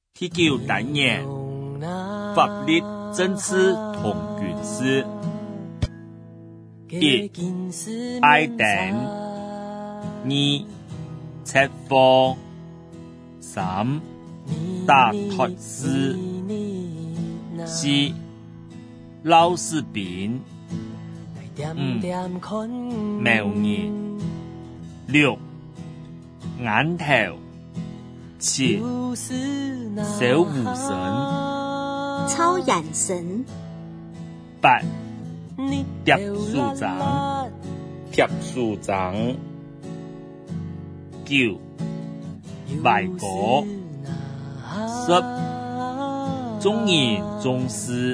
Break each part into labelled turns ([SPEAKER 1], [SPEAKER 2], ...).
[SPEAKER 1] 第9單元法律政治同軍事。1. 愛定。2. 測謊。3. 打脫絲。4. 撈士兵。5. 謀人。6. 眼頭。7. 小狐神。
[SPEAKER 2] 超眼神。
[SPEAKER 1] 8. 貼樹長。貼樹長。9. 賣果。10. 中人中事。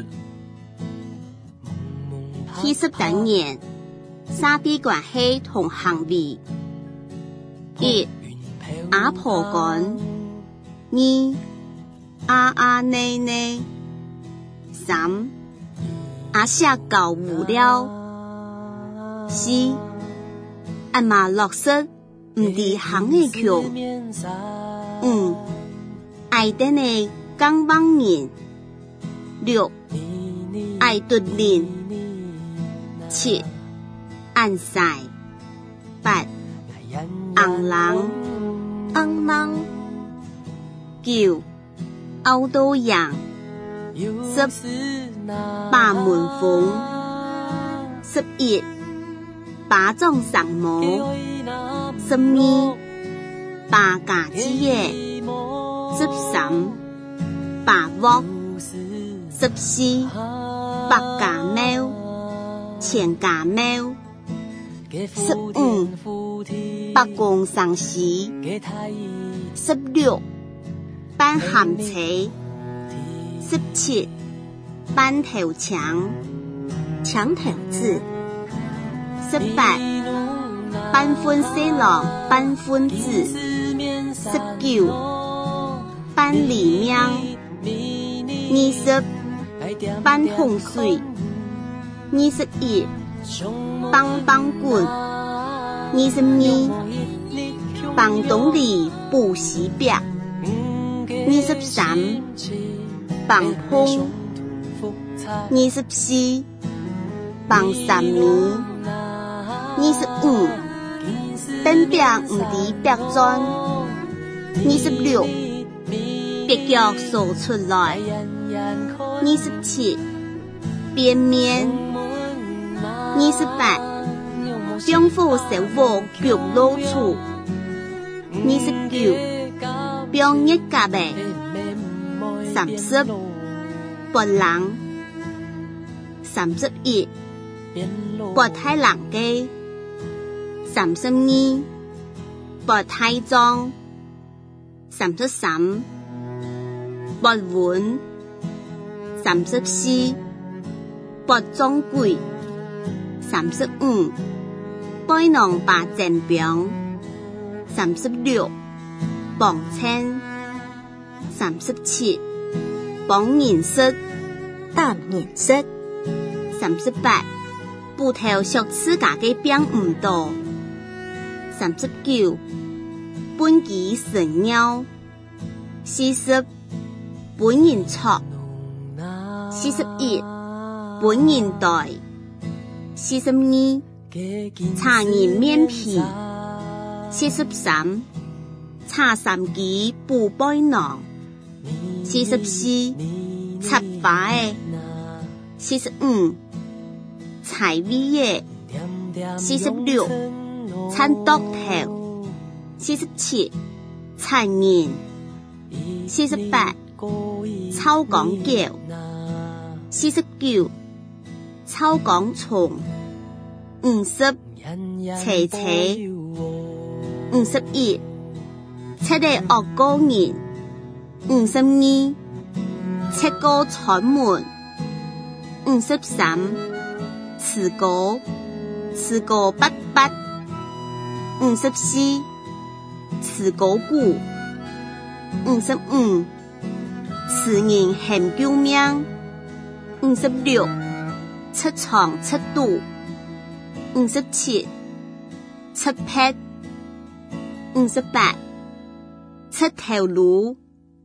[SPEAKER 2] 第10單元沙地關係同行為。1. 阿婆講。2. 阿奶奶。3. 阿寫教無聊。4. 阿媽落實唔地行嘅橋。5. 愛定嘅講幫人。6. 愛獨人。7. 按晒。8. 紅人。9. 歐都洋。10. 把門風。11. 把裝上模。12. 把架子嘢。13. 把鑊。14. 把架貓。前架貓。15. 把公上市。16. 搬鹹車。17. 搬頭牆。牆頭字。18. 搬歡色郎。搬歡字。19. 搬里面。20. 搬洪水。21. 幫棍。22. 幫東里補西壁。23. 幫碰。24. 幫三米。25. 燈壁唔地壁磚。26. 別腳掃出來。27. 邊面。28. 將火燒火腳露出。29. 將一夾嘅。30. 撥人。31. 撥太人嘅。32. 撥太裝。33. 撥碗。34. 撥裝櫃。35. 背囊把正表。36. 綁稱。37. 綁顏色。淡顏色。38. 布頭削自家嘅邊唔多。39. 本機神鳥。40. 本人錯。41. 本人袋。42. 茶人面皮。43. 茶三機布背囊。44. 插把嘅。45. 柴味嘅。46. 餐剁頭。47. 殘人。48. 臭講叫。49. 臭講蟲。50. 斜斜。51. 七個惡高人。52. 七個闖門。53. 詞果。詞果筆筆。54. 詞果鼓。55. 詞人喊救命。56. 七床七肚。57. 七撇。58. 七條路。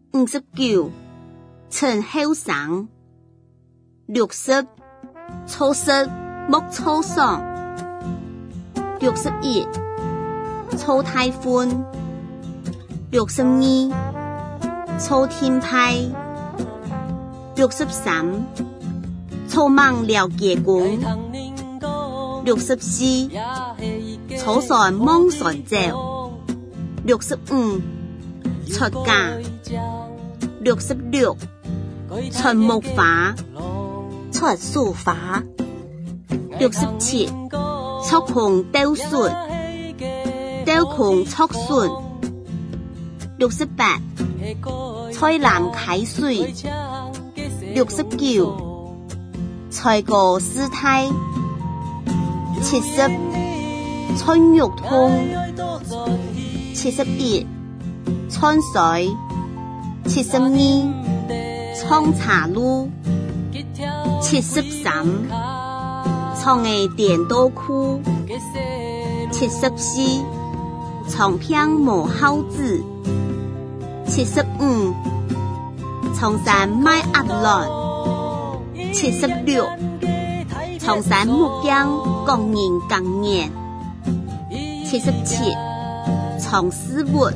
[SPEAKER 2] 59陳後生60初識莫初爽61初大歡62初天派63初夢了結果64初上夢上走65出嫁66出木筏出書法67出窮鬥順鬥窮出順68菜籃開水69菜過師太70春肉通71春水72沖茶路73沖的電刀褲74沖片無孝子75沖山賣鴨卵76沖山木匠工人耕年77沖絲襪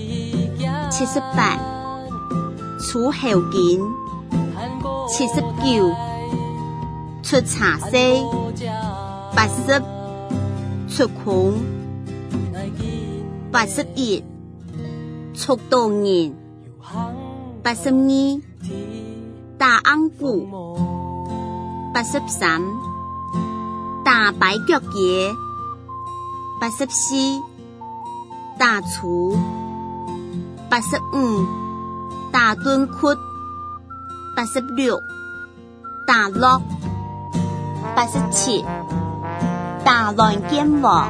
[SPEAKER 2] 78出後筋79出茶色80出窮81出道人82打安鼓83打擺腳節84打廚85打墩窟86打落87打亂劍王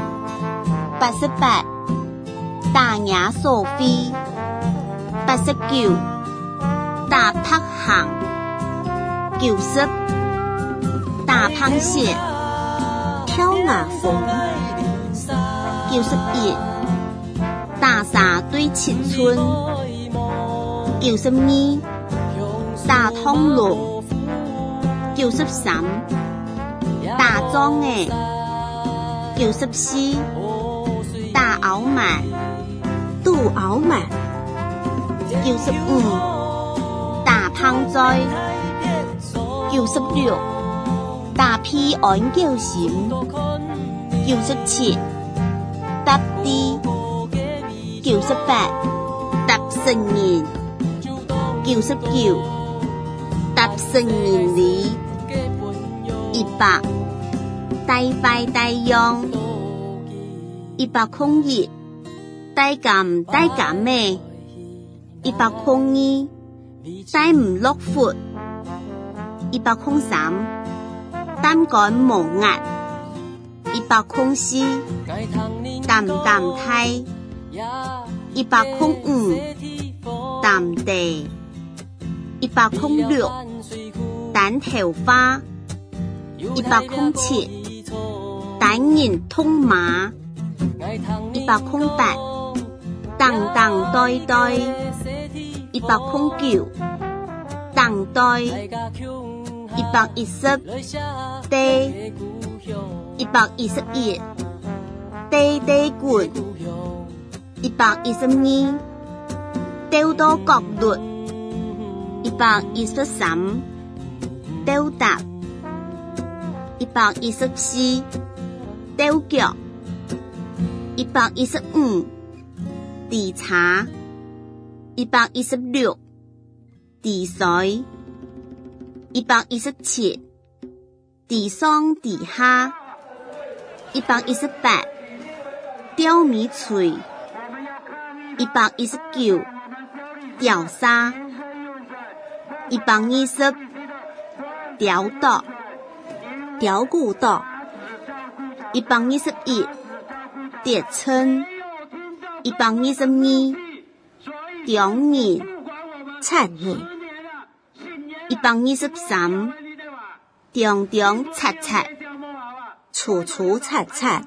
[SPEAKER 2] 88打亞索菲89打拍行90打螃蟹挑牙縫91打沙對七寸92打通龍93打裝的94打熬滿杜熬滿95打胖災96打屁安叫心97搭地98搭成人99搭成人里100大快大用101大減大減咩102大唔落闊103膽肝無壓104淡淡態105淡地106蛋頭花107單人通馬108當當對對109當對110地111地地滾112丟到角率113丟達114丟腳115地茶116地水117地上地下118吊米錘119吊沙120吊刀吊骨刀121疊稱122中人殘人123中中擦擦楚楚擦擦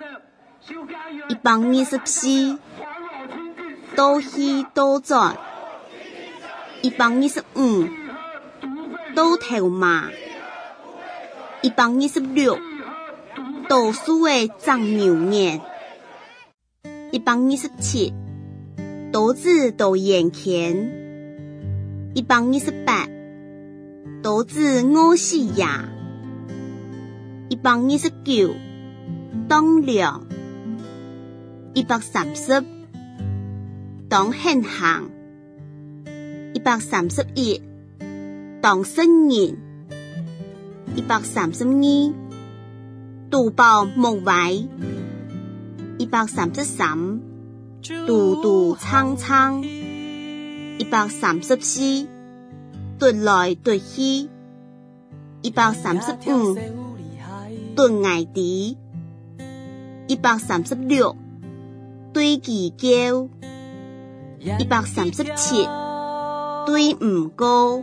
[SPEAKER 2] 124多希多轉 125倒頭馬126倒數的長牛眼127倒子倒眼前128倒子餓死呀129當量130當現行131當聖人132杜報木位133杜杜蒼蒼134奪來奪去135奪崖底136對其叫137對唔高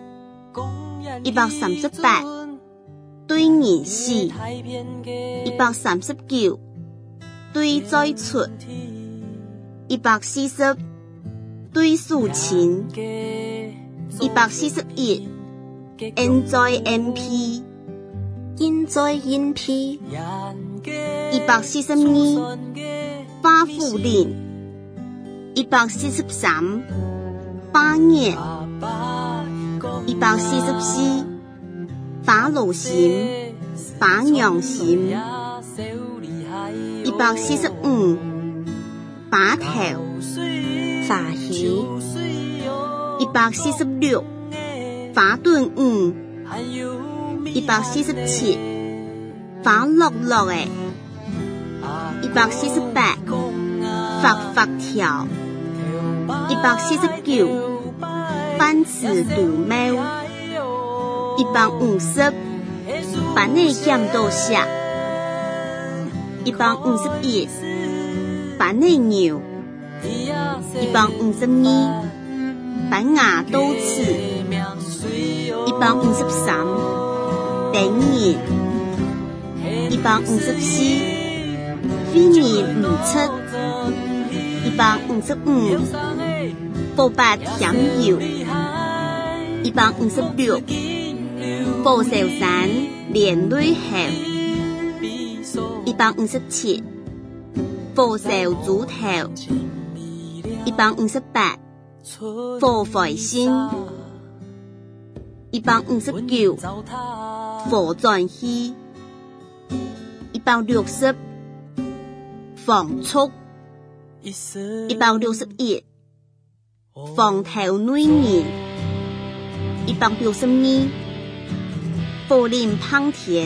[SPEAKER 2] 138對人死139對再出140對數錢141現在 MP 現在 NP 142花婦人143花葉144花露心花娘心145花頭花魚146花盾147花落落的148發發條149番子杜貓150板內減到下151板內牛152板牙刀刺153等人154非你唔出155報白甜油156報壽山連累後157報壽豬頭158報回心159報轉去160放速161放頭女人162報林胖田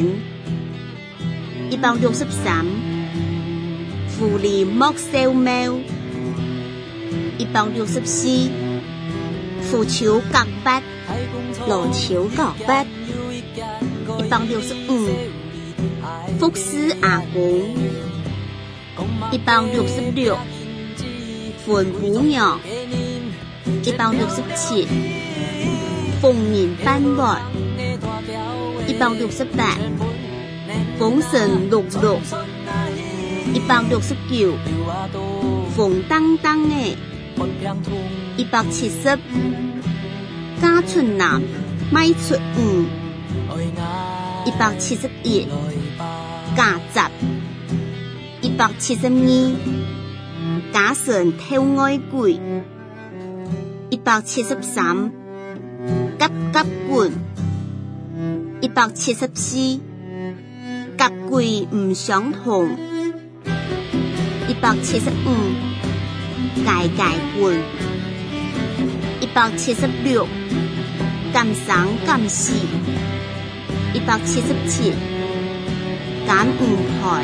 [SPEAKER 2] 163婦女莫燒貓164扶手角筆羅球角筆165福斯阿公166粉姑娘167鳳面斑駁168風神綠綠169風當當的170家出男賣出171家雜172家神偷愛鬼173夾夾棍174夾鬼唔相同175解解棍176敢生敢死177敢唔台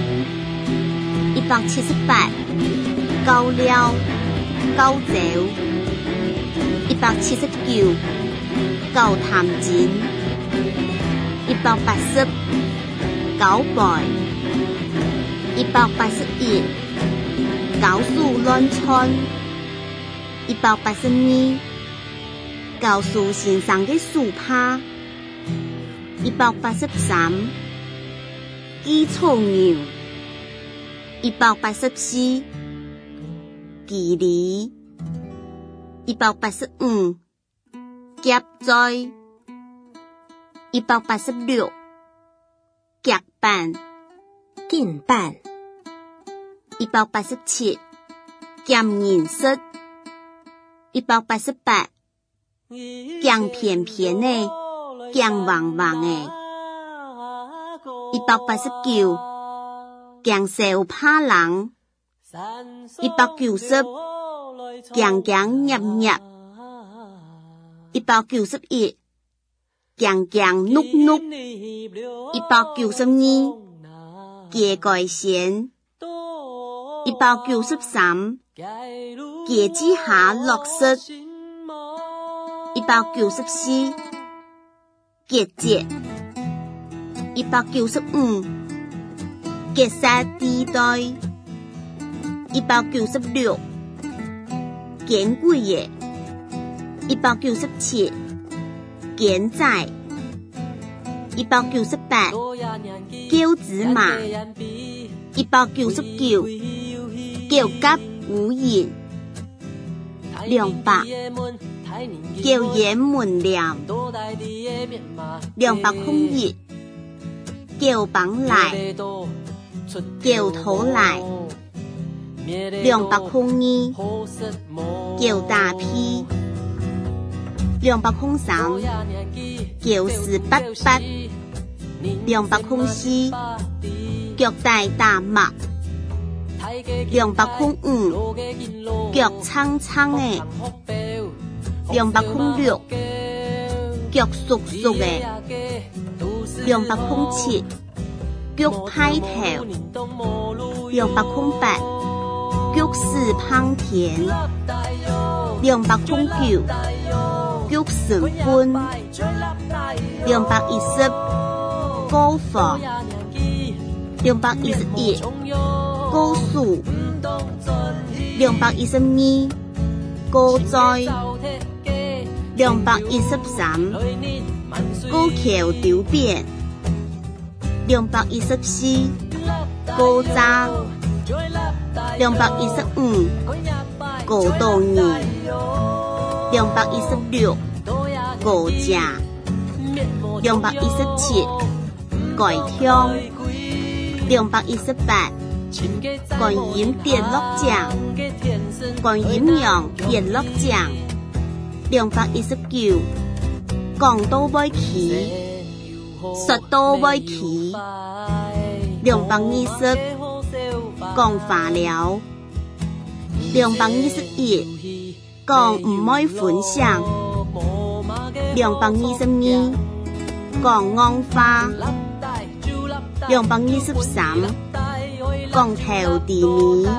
[SPEAKER 2] 178高料高走179高談錢180高背181高數亂竄182高數先生的樹趴183基礎牛184距離185 夾載186，夾板
[SPEAKER 3] 鏡板
[SPEAKER 2] 187，鹹銀色188，鹹片片的，鹹黃黃的189，鹹手帕人190，鹹鹹葉葉191，鹹鹹碌碌192，雞蓋線193，雞子下綠色194，結節195，結紮地帶196，見鬼嘅197，見仔198，叫子麻199，叫甲無言200，叫鹽門梁201，叫綁來叫土來202，叫大批203，叫488 204，腳帶大麥205，腳蒼蒼的206，腳熟熟的207，腳派頭208，腳絲香甜209，腳成分210，高火211，高樹212，高栽213，高橋丟變214，高渣215，高豆泥216，高架217，蓋香218，觀音電樂獎觀音陽電樂獎219，講到尾期說到尾期220，講化療221，講唔愛分享222，講安花223，講頭地米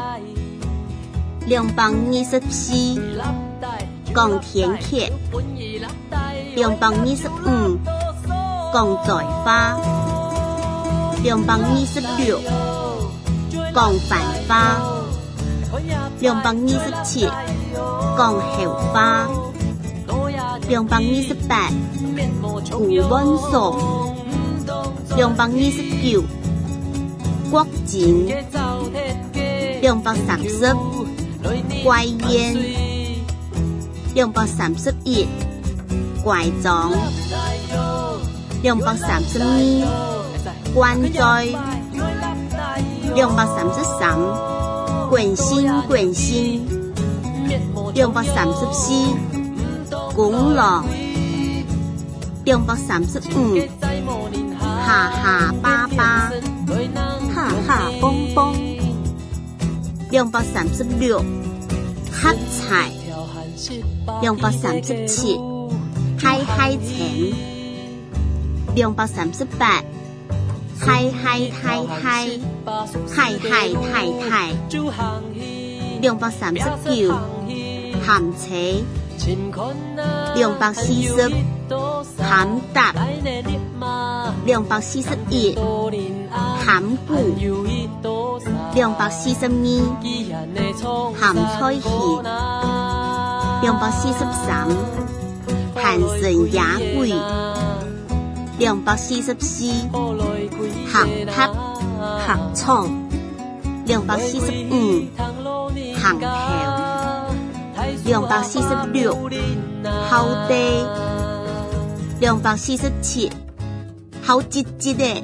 [SPEAKER 2] 224，講天蠍225，講在花226，講繁花227，講後花228，古文素229，國景230，怪煙231，怪狀232，關在233，滾心滾心234，公路235，哈哈巴巴哈哈蹦蹦236，黑菜237，嗨嗨錢238，嗨嗨太太嗨嗨太太239，鹹扯240，鹹搭241，鹹骨242，鹹菜莧243，鹹神雅貴244，鹹塔鹹蔥245，鹹頭246，好地 247好積極的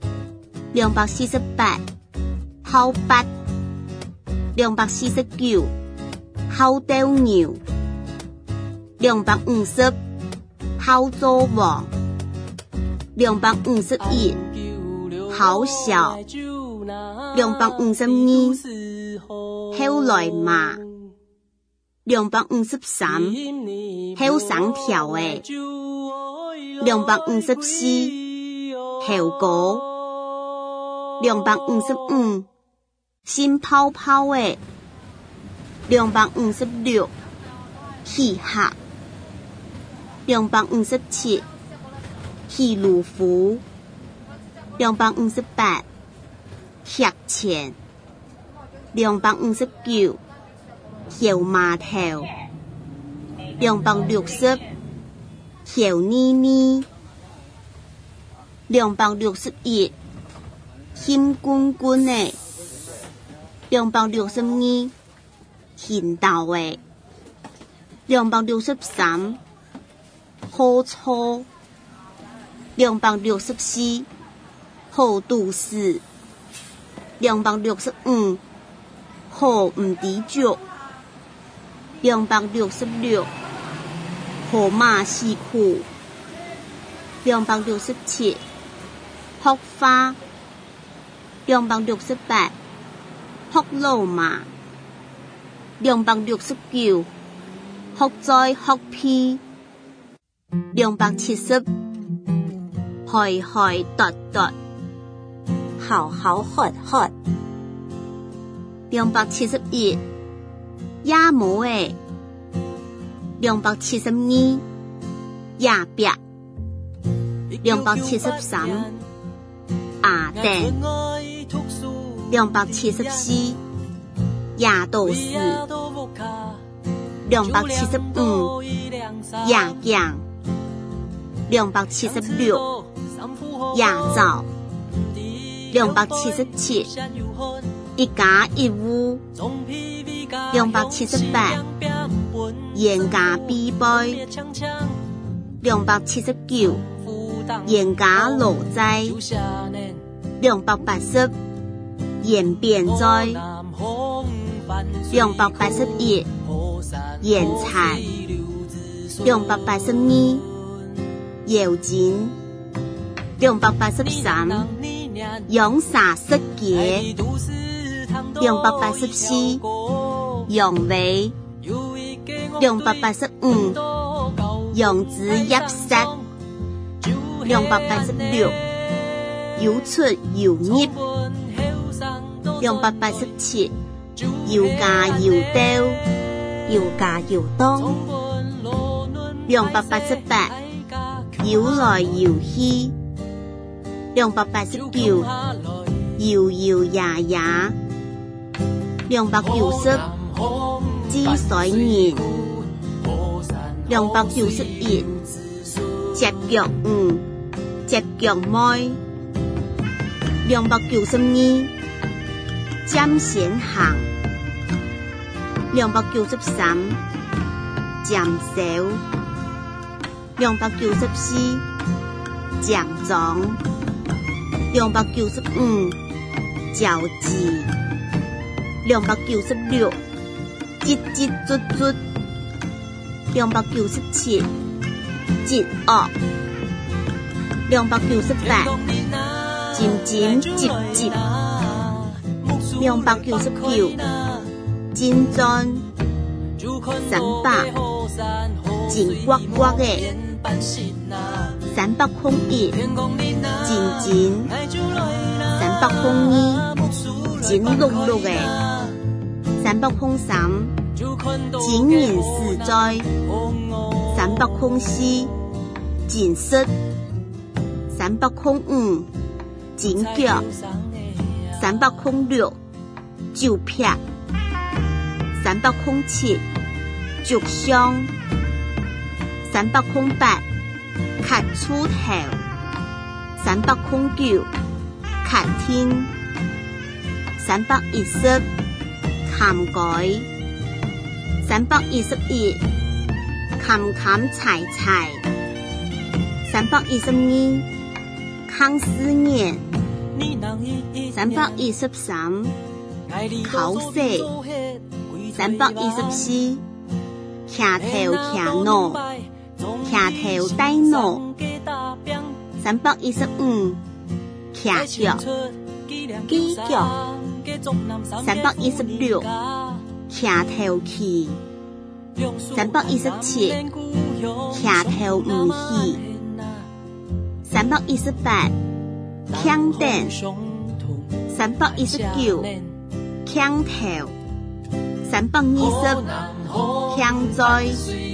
[SPEAKER 2] 248好八249好鬥牛250好做王251好小252好來嘛253好上條的254好高255心泡泡的256氣客257氣魯夫258客錢259小碼頭260小妮妮261心滾滾的262現道的263好粗264好都市265好唔知足266好馬戲褲267學花268學老馬269學在學屁270海海奪奪
[SPEAKER 3] 好好喝喝
[SPEAKER 2] 271也無誒272也白273阿蛋274也都是275也醬276也枣277一家一屋278嚴家必杯279嚴家老齋280鹽變災281鹽菜282油錢283用啥色嘅284用尾285用子入色286有出有入287有加有兜
[SPEAKER 3] 有加有當
[SPEAKER 2] 288有來有去289搖搖呀呀290知水年291接腳接腳妹292尖線行293漸少294獎狀295交誌296節節卒卒297節惡298漸漸接接299尖鑽300緊呱呱的301漸漸302緊碌碌的303緊言實在304緊實305緊腳306就劈307逐傷308卡出頭309卡天310砍改311砍砍柴柴 322康思念323考試324騎頭騎腦騎頭帶腦315騎腳
[SPEAKER 3] 機腳
[SPEAKER 2] 316騎頭去317騎頭唔去318強電319強頭320強災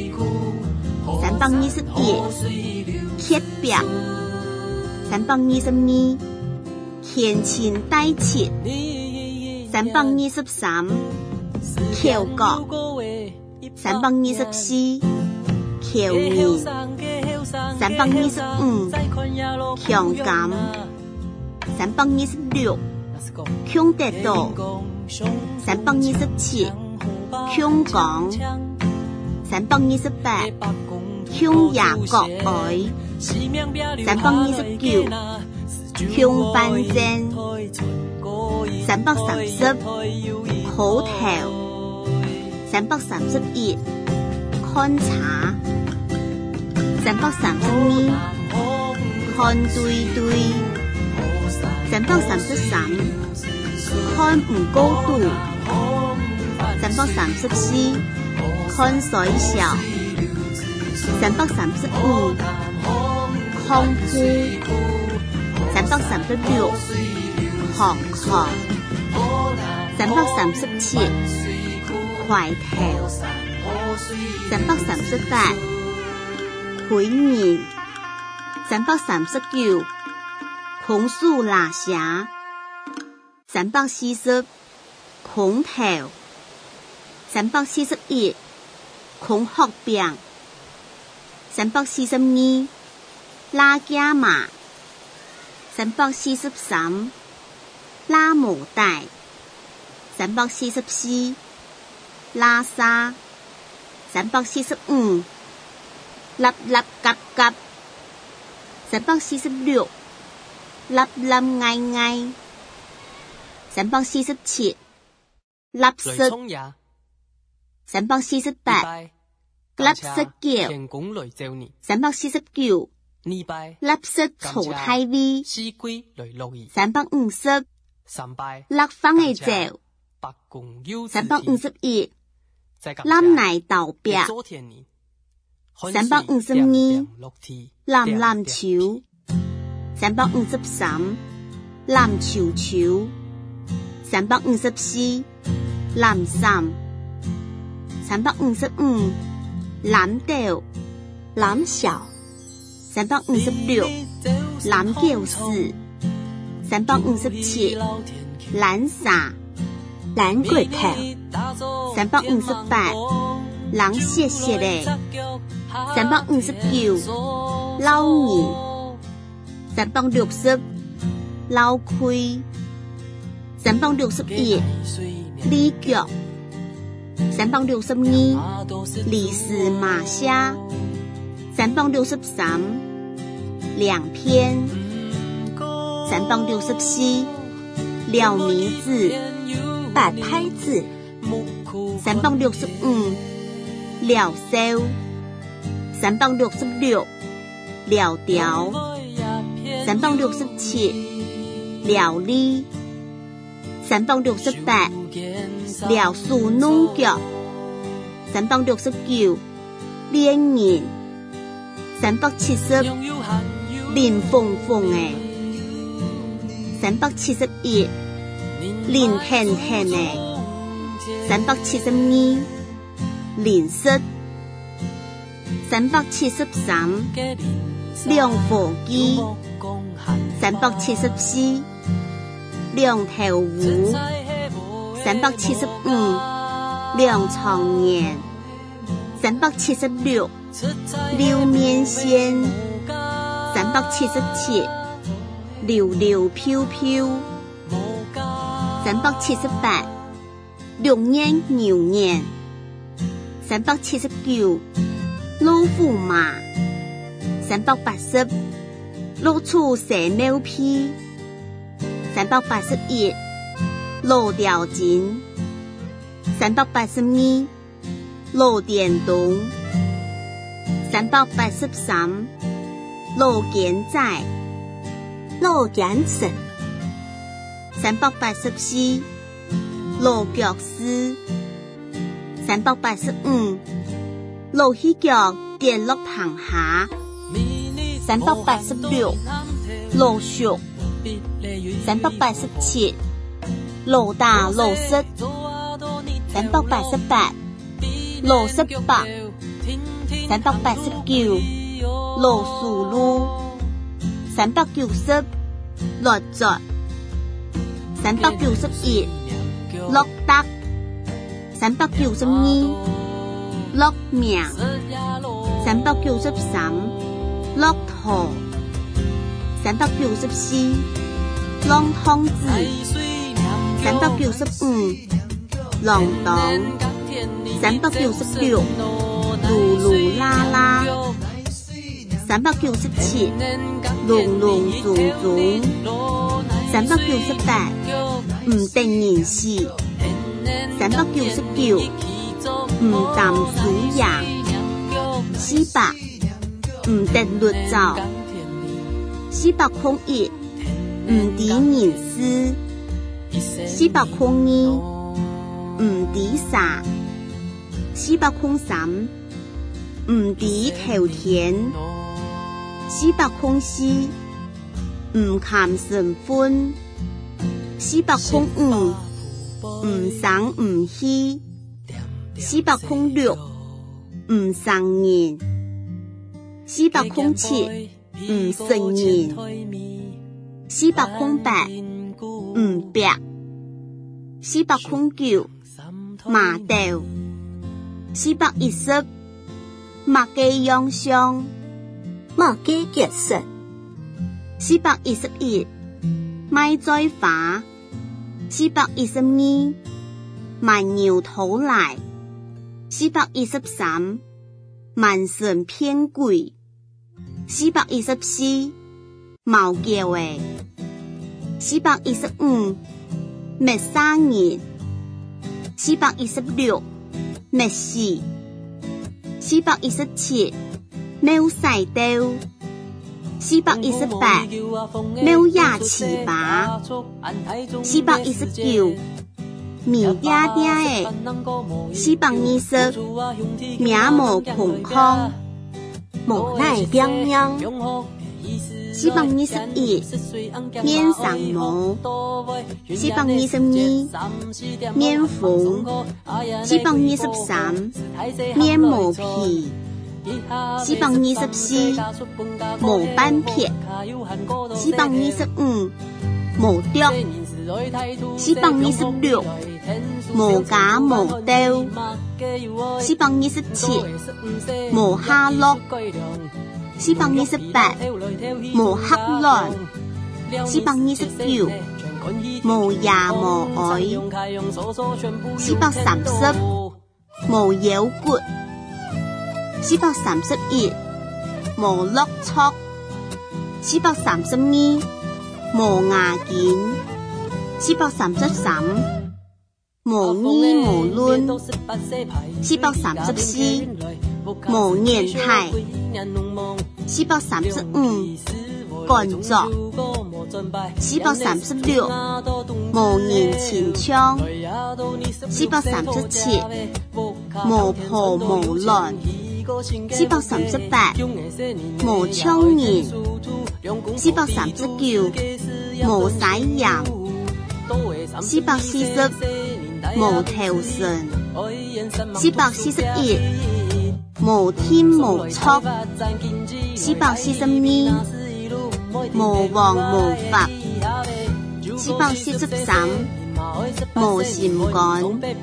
[SPEAKER 2] 321刻表322虔親帶切323口角324口面325強感326強得到327強講328強牙國愛329強辦證330口頭331看查332看對對333看唔高度334看水小335康夫336航殼337快頭338回面339孔樹拉霞340孔頭341孔學餅342拉加馬343拉牡帶344拉沙345立立夾夾346立立嗌嗌347立色348立色叫349立色草太味350立方嘅酒351攬奶豆餅352籃籃球353籃球球354籃衫355籃豆籃小356籃教室357籃灑籃櫃頭358人謝謝咧359老二360老虧361李腳362李斯馬蝦363兩篇364廖迷子白拍子365廖燒366廖條367廖梨368廖樹弄腳369連銀370林鳳鳳誒371林甜甜誒372林色373兩火雞374兩頭魚375兩床年376溜麵線377溜溜飄飄378六年牛年379老虎馬 380落處蛇貓屁381落吊錢382落電動383落健仔落眼神384落腳絲385落起腳跌落棚下386落熟387落大落色388落色白389落樹路390落作391落得392落命393落土394浪通子395浪蕩396嚕嚕啦啦397隆隆種種398唔定人事399唔淡數羊400唔得律照401唔敵人私402唔敵傻403唔敵頭田404唔砍神婚405唔生唔喜406唔生人407唔生人408唔白409麻豆410馬雞養傷馬雞結實411賣再花412蠻牛頭來413蠻神騙鬼414毛叫誒415滅殺人416滅死417沒賽刀418沒牙齒拔419米嗲嗲誒420名無空空無奈邊央421面上毛422面紅423面毛皮424毛斑片425毛雕426毛假毛刀427毛蝦碌428毛黑卵429毛牙毛愛430毛腰骨431毛落戳432毛牙件433毛衣毛卵434毛年態435乾作436毛年前槍437毛破毛亂438毛槍年439毛洗人440毛頭神441毛天毛速442毛王毛法443毛心肝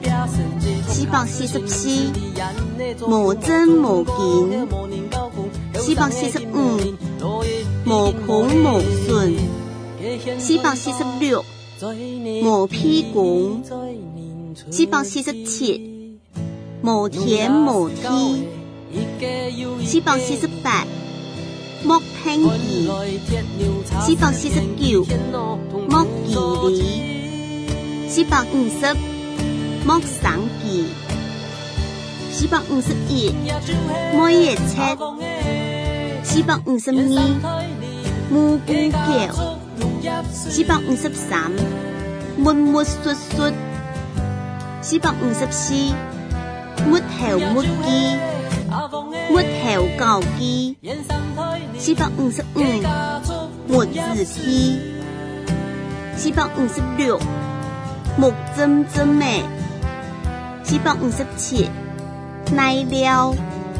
[SPEAKER 2] 444毛真毛件445毛孔毛順446毛屁股447毛田毛梯448 木聽記449木記里450木省記451木葉切452木菇橋453木木xuất xuất454木頭木機木頭舊機455木字機456木針針的457奶料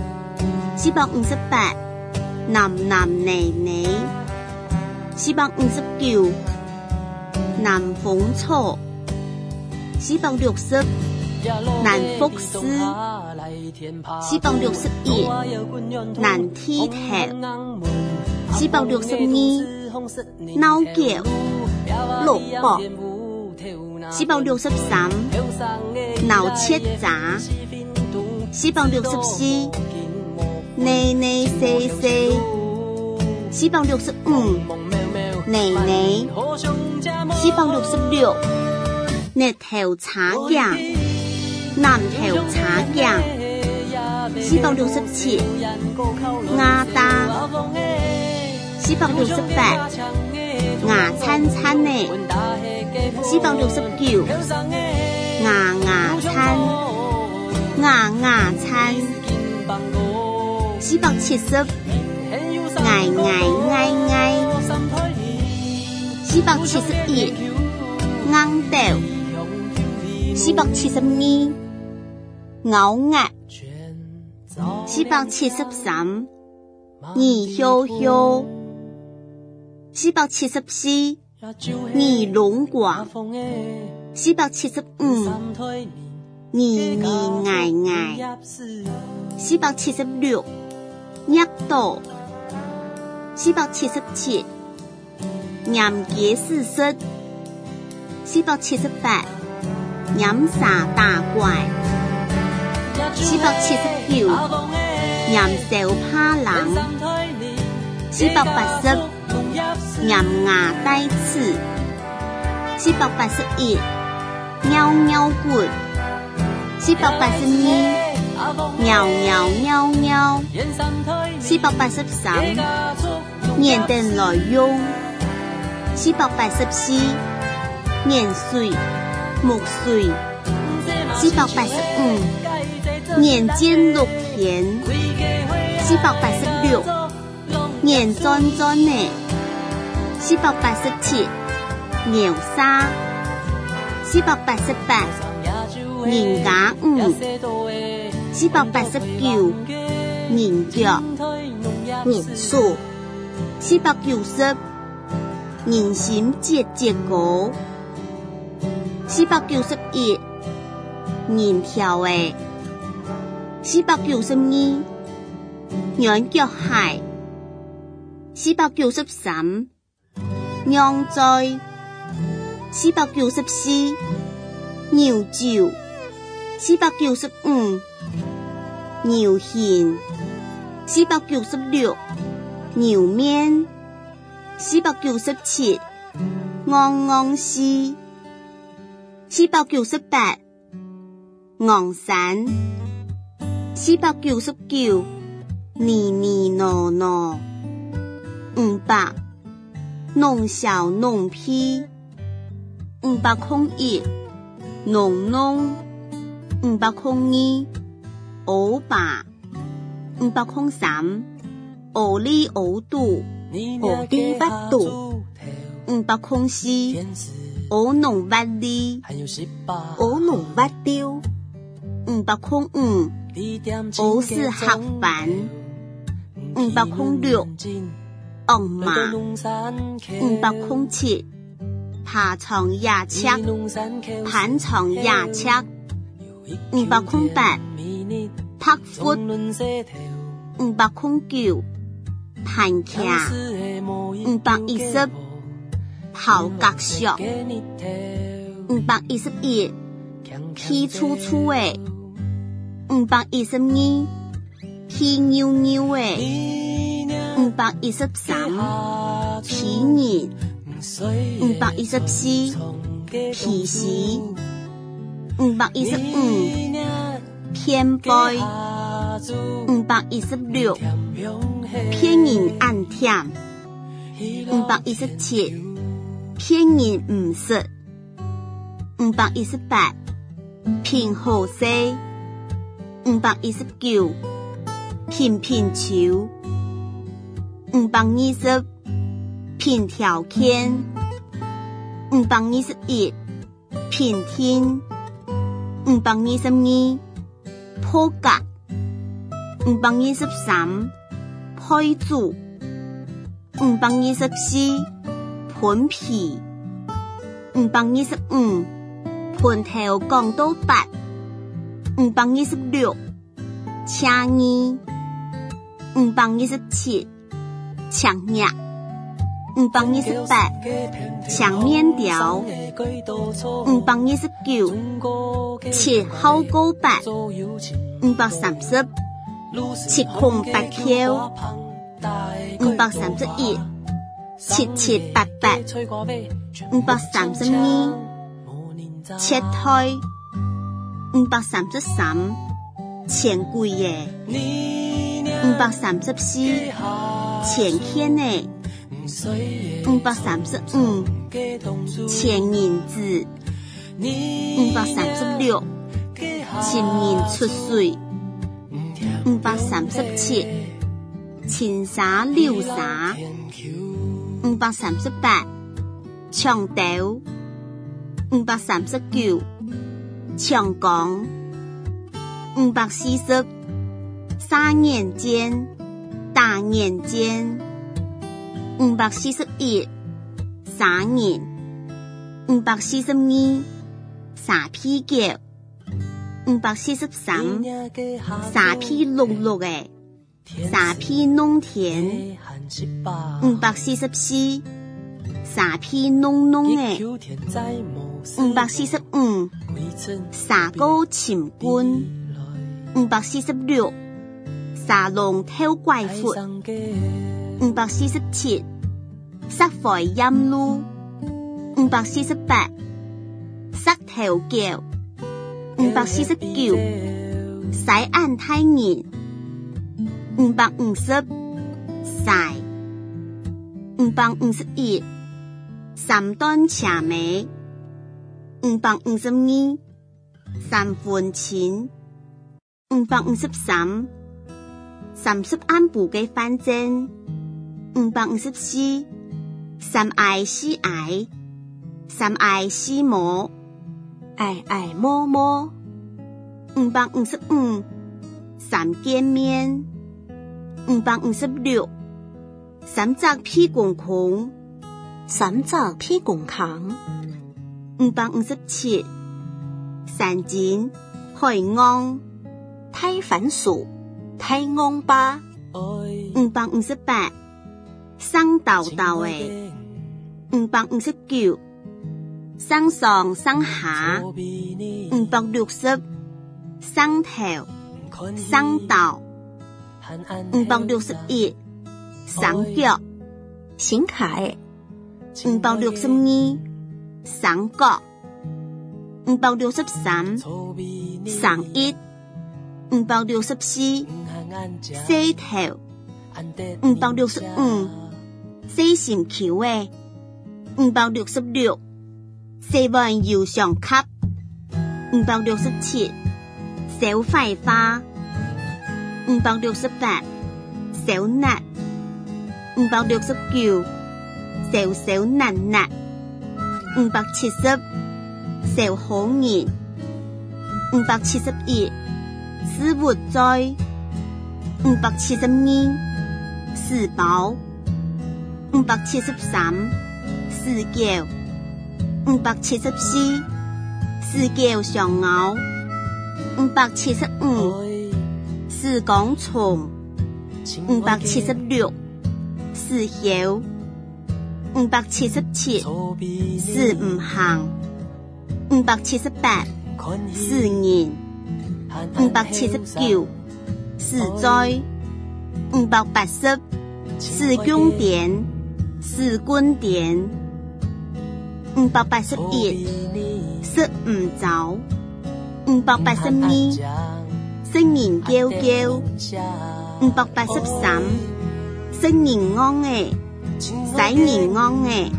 [SPEAKER 2] 458男男女女459南風草460南福斯461南梯頭462腦橋蘿蔔463腦切雜464內內西西465內內466日頭茶醬南頭茶醬467鴨蛋468牙餐餐的469牙牙餐牙牙餐470愛愛愛愛471硬豆472咬壓473二香香474二龍華475二二愛愛476一道477嚴結四室478嚴沙大怪479嚴小怕冷480嚴牙帶刺481喵喵骨482喵喵喵喵483年燈來用484年水木水485年間綠田486年專專的487鳥沙488年假489年腳年數490年心節節果491年條的492羊腳蟹493釀醉494牛酒495牛莧496牛面497昂昂絲498昂散499呢呢挪挪500弄小弄批501弄弄502歐巴503歐里歐度歐里巴度504歐農巴里歐農巴丟505歐式黑板506昂馬507爬床牙尺盤床牙尺508拍闊509盤卡510跑格石511氣粗粗的512氣扭扭的 513皮銀514皮時515偏背516偏銀暗甜517偏銀唔實518偏好色519偏偏球520偏條件521偏天522破格523配組524盤皮525盤頭講到8526車衣527長葉528長面條529切好高白530切空白條531切切白白532切胎533錢櫃嘅534錢天嘅535錢銀子536錢銀出水537青沙溜沙538長豆539長江540沙眼尖大眼尖541沙眼542沙皮腳543沙皮綠綠嘅沙皮農田544沙皮濃濃嘅545沙高潛官546沙龍挑怪闊547沙肥陰路548沙頭腳549西岸太熱550曬551三段茶尾552三分錢55330安步嘅反正554三愛四愛三愛四摸
[SPEAKER 3] 愛愛摸摸
[SPEAKER 2] 555三見面556三隻屁股孔
[SPEAKER 3] 三隻屁股孔
[SPEAKER 2] 557三斤海岸
[SPEAKER 3] 太番薯太昂巴
[SPEAKER 2] 558生豆豆嘅559生上生下560生頭生豆561生腳
[SPEAKER 3] 醒凱
[SPEAKER 2] 562生角563生一564西頭565西線橋嘅566西灣搖上級567小廢花568小辣569小小辣辣570小好熱571絲活災572絲寶573絲腳574絲腳上咬575絲講蟲576絲曉577絲唔行578絲言579絲災580 四宮殿，四軍殿，581，食唔走，582，食人嬌嬌，583，食人安嘅，使人安嘅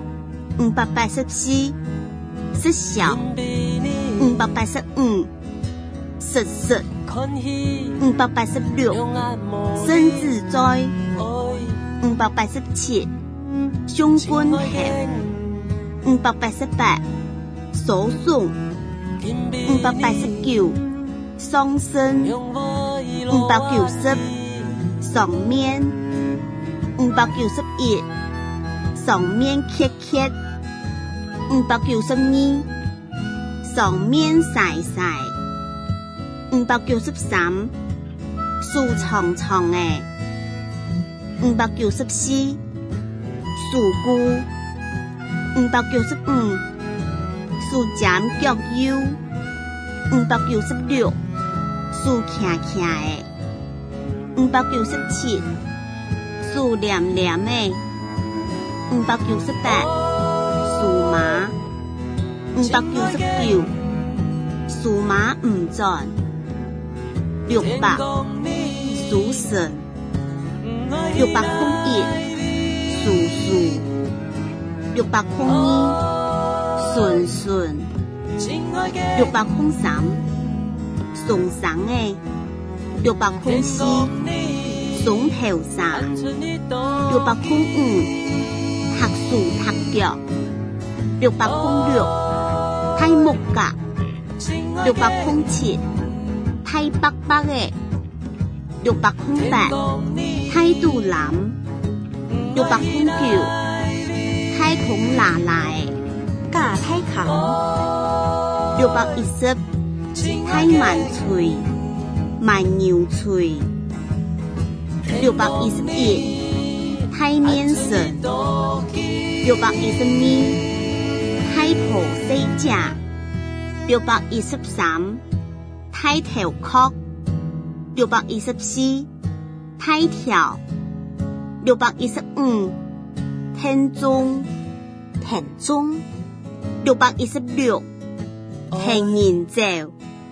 [SPEAKER 2] ，584，食小，585，食食，586，生自在，587，胸軍頭，588，手送，589，雙身，590，上面，591，上面揭揭，592，上面曬曬，593，樹長長嘅，594，樹菇，595，樹尖腳腰，596，樹徛徛嘅，597，樹黏黏嘅，598，樹麻，599，樹麻唔轉，600，樹神，601，樹樹，602，順順，603，送上嘅，604，送頭上，605，學樹踢腳，606，睇木架，607，睇北北嘅，608，睇杜南，609，睇孔拿來
[SPEAKER 3] 架睇扛
[SPEAKER 2] ，610，睇萬翠萬牛翠，611，睇面神，612，睇婆西架，613，睇頭殼，614，睇條，615，天中
[SPEAKER 3] 田中
[SPEAKER 2] ，616，田人照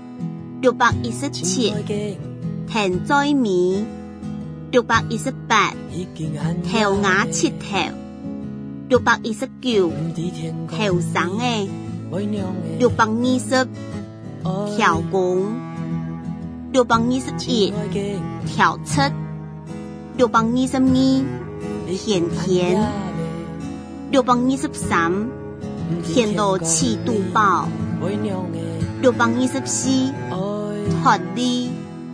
[SPEAKER 2] ，617，田栽米，618，頭牙切頭，619，頭生嘅，620，條公，621，條七，622，田田，623，田螺翅肚包，624，脫離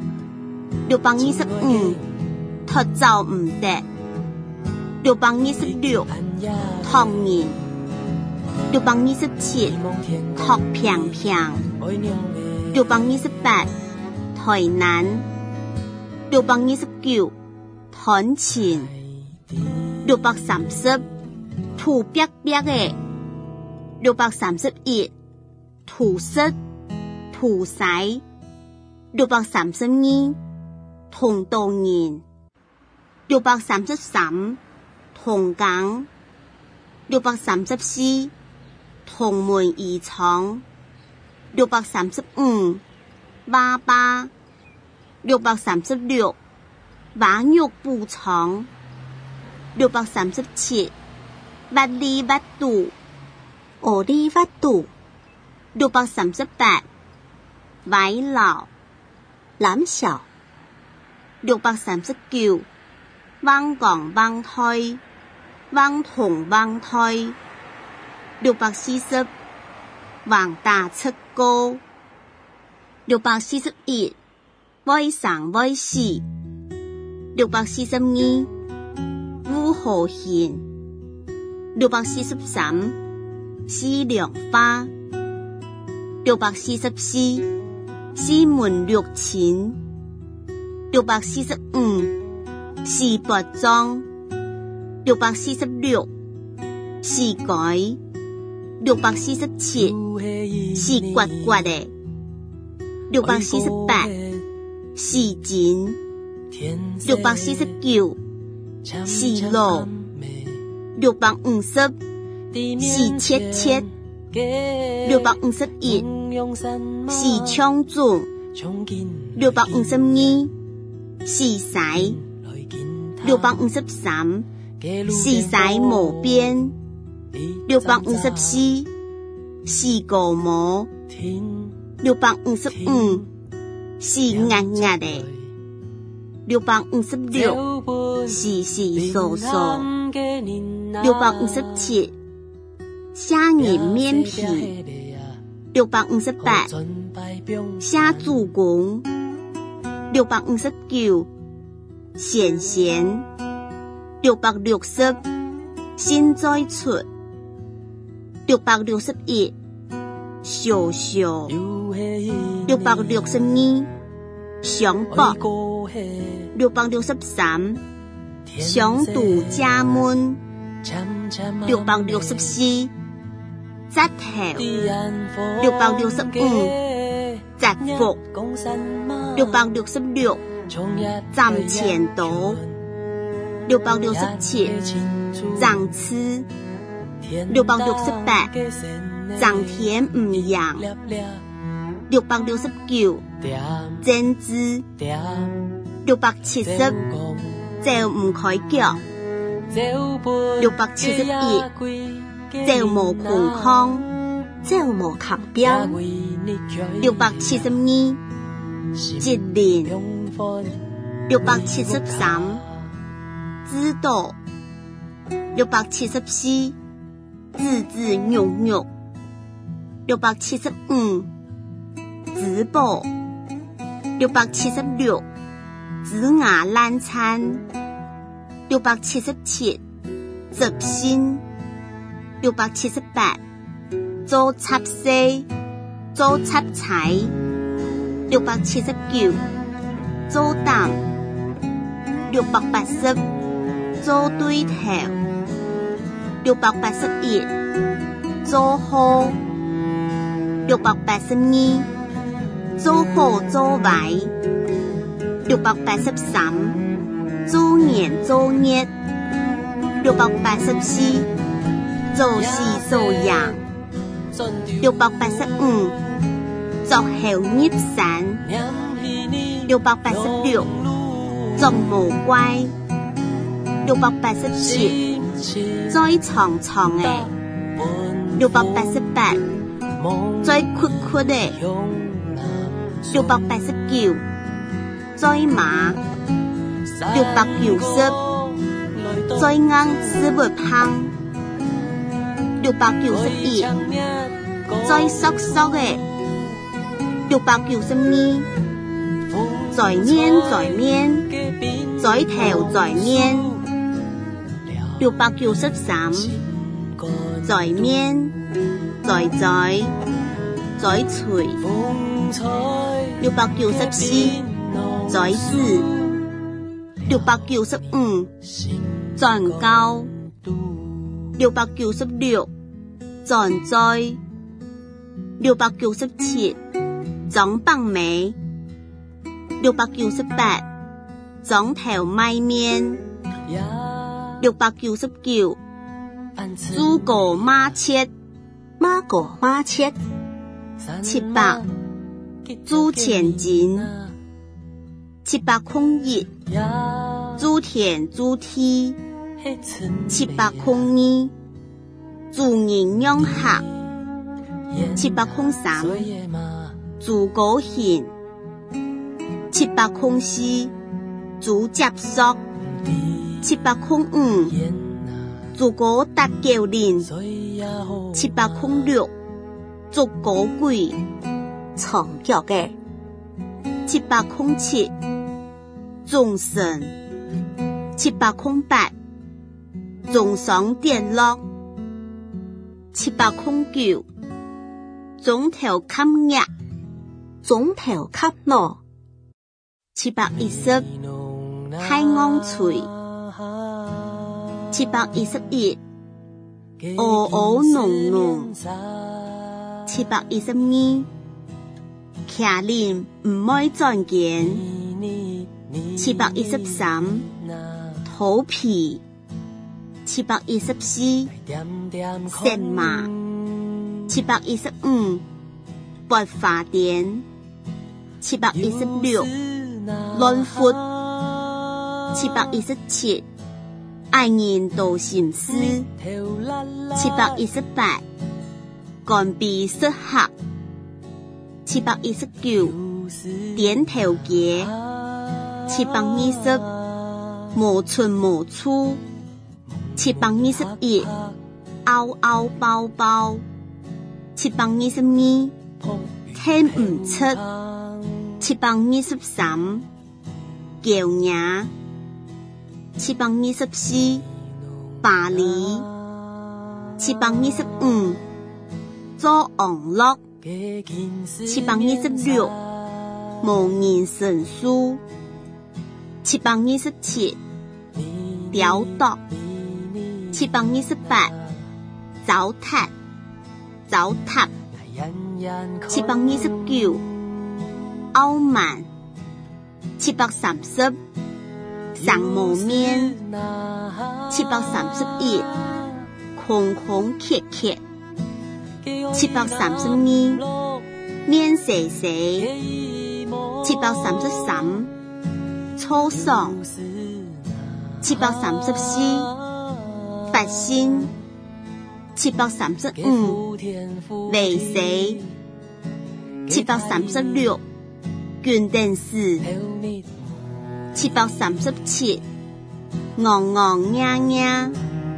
[SPEAKER 2] ，625，脫走唔得，626，托人，627，托平平，628，台南，629，團前，630，土壁壁嘅，631，土色土使，632，同道人，633，同港，634，同門而闖，635，娃娃，636，瓦肉布廠，637，挖里挖肚，
[SPEAKER 3] 奧里挖肚
[SPEAKER 2] ，638，歪老，
[SPEAKER 3] 攬小
[SPEAKER 2] ，639，汪港汪推，汪同汪推，640，橫大出高，641，威生威死，642，烏河縣，643，西涼花，644，西門綠錢，645，西博莊，646，西改，647，西刮刮的，648，西剪，649， 是路650是切切651是槍準652是使653是使無邊654是個模655是壓壓的656是掃掃657蝦仁面皮658蝦豬公659鹹鹹660新再出661小小662上博663上肚加悶664扎頭665扎腹666站前刀667長刺668長田唔養669剪枝670走唔開腳671走無窮康
[SPEAKER 3] 走無殼標
[SPEAKER 2] 672節連673知道674字字肉肉675直播676子牙爛餐677執心678做插西做插菜679做膽680做對頭681做好682做好做壞683做年做日684做事做樣685做後入山686做無怪687再長長的688再闊闊的689再麻690再硬絲不胖691再縮縮的692在面在面在頭在面693在面在嘴在嘴694在字695轉高696轉災697總棒尾698總頭賣面699豬狗馬切
[SPEAKER 3] 馬狗馬切
[SPEAKER 2] 700豬前進701豬田豬梯702豬人養客703豬狗獻704豬接索705豬狗搭橋林706豬狗鬼
[SPEAKER 3] 長腳嘅
[SPEAKER 2] 707眾神708眾爽電落709總頭砍壓
[SPEAKER 3] 總頭砍落
[SPEAKER 2] 710海昂脆711嗷嗷濃濃712徛林唔愛轉見713 土皮714石麻715拔花鈿716論闊717愛人道心思718干鼻失合719點頭結720無寸無處721嗷嗷包包722聽唔出723叫名724巴黎725做網絡726無言神書727雕琢728糟蹋729傲慢730上無面731空空缺缺732面細細733粗爽734發心735微細736卷電視737昂昂呀呀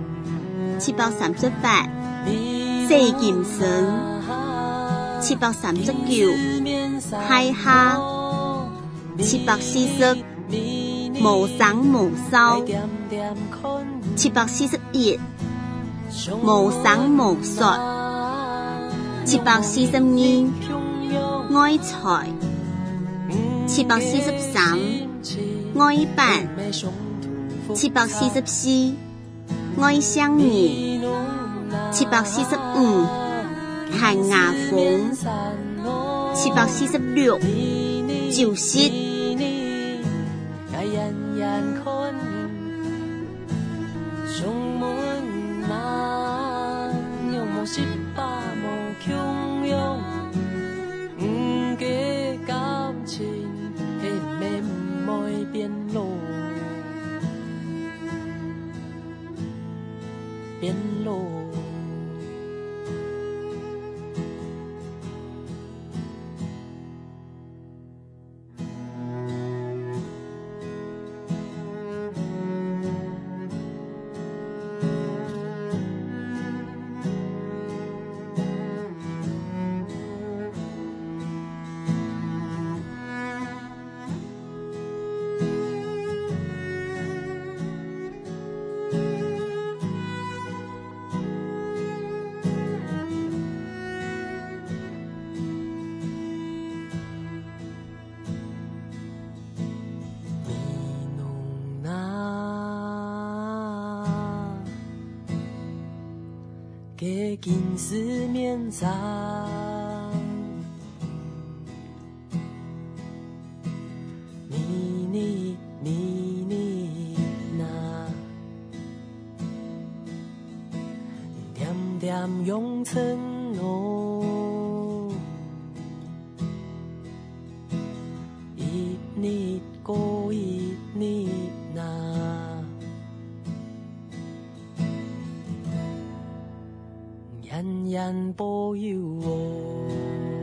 [SPEAKER 2] 738四劍神739海蝦740無聲無騷741無聲無說742愛財743愛辦744愛相遇745寒牙縫746就是變路。給金絲綿長，你那，點點永承諾，一日過一日那。人人保佑我。